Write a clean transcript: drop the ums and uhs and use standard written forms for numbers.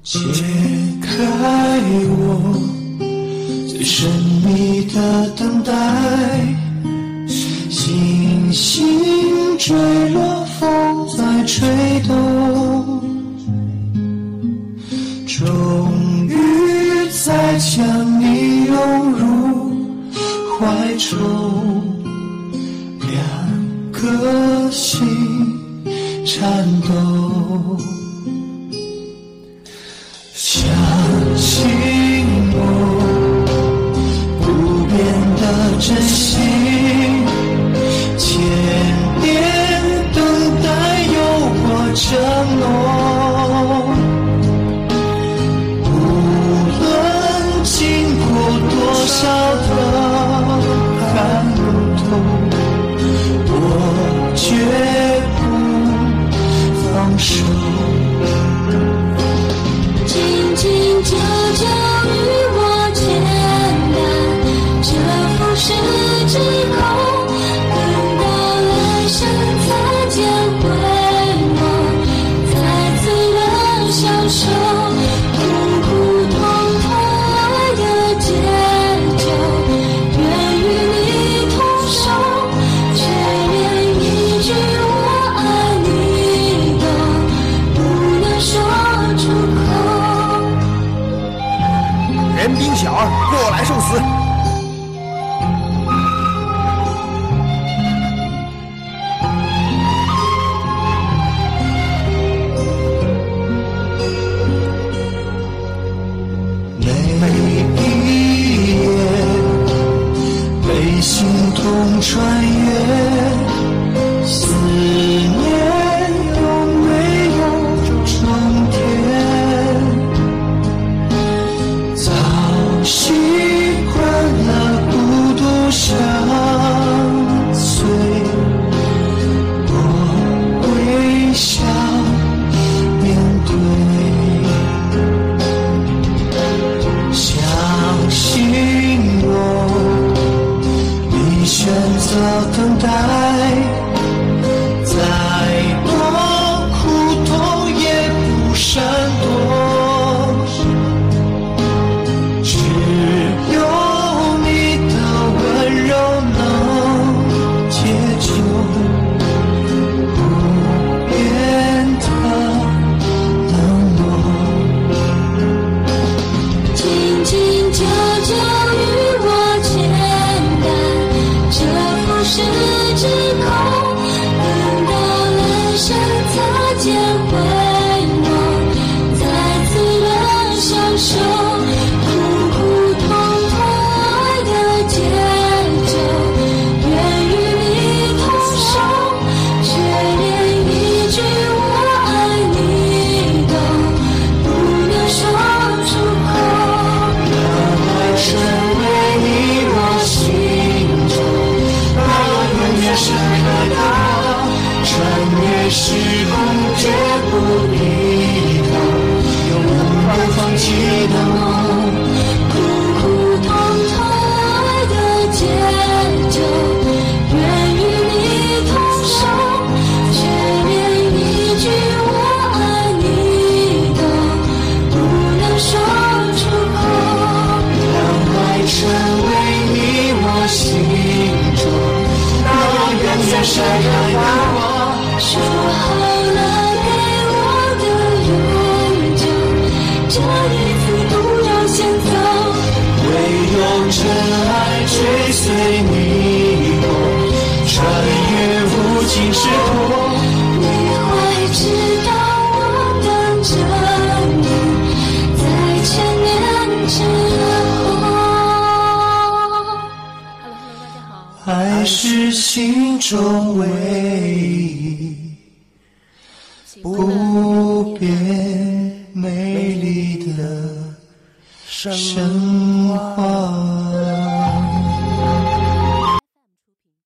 解开我最神秘的等待，星星坠落，风在吹动，终于再将你拥入怀中，两颗心颤抖。相信我不变的真心，千年等待有我承诺，无论经过多少的寒冬，我绝不放手。 紧紧久久与我牵绊，这浮世之空，等到来生才将回眸，再次的相守，苦苦痛痛爱的解救，愿与你同守，却连一句我爱你都不能说出口。 人兵小儿，过来受死！ 每一夜被心痛穿越，思念有没有终点？早习惯了孤独相随，我微笑面对。相信我，你选择等待，再多苦痛也不闪躲，只有你的温柔能解救不变的冷漠。 紧紧久久与我牵绊，这浮世之空，等到来生才将回眸，再次的相守，苦苦痛痛爱的解救，愿与你同守，却连一句我爱你都不能说出口。 成为你我心中那永远深刻的，穿越时空绝不低头，永不放弃的梦。 苦苦痛痛爱的解救，愿与你同守，却连一句我爱你都不能说出口。 成为你我心中那永远深刻的我。 说好了给我的永久，这一次不要先走。 唯有真爱追随你我，穿越无尽时空。 你会知道我等着你，在千年之后。 爱是心中唯一不变美丽的神话。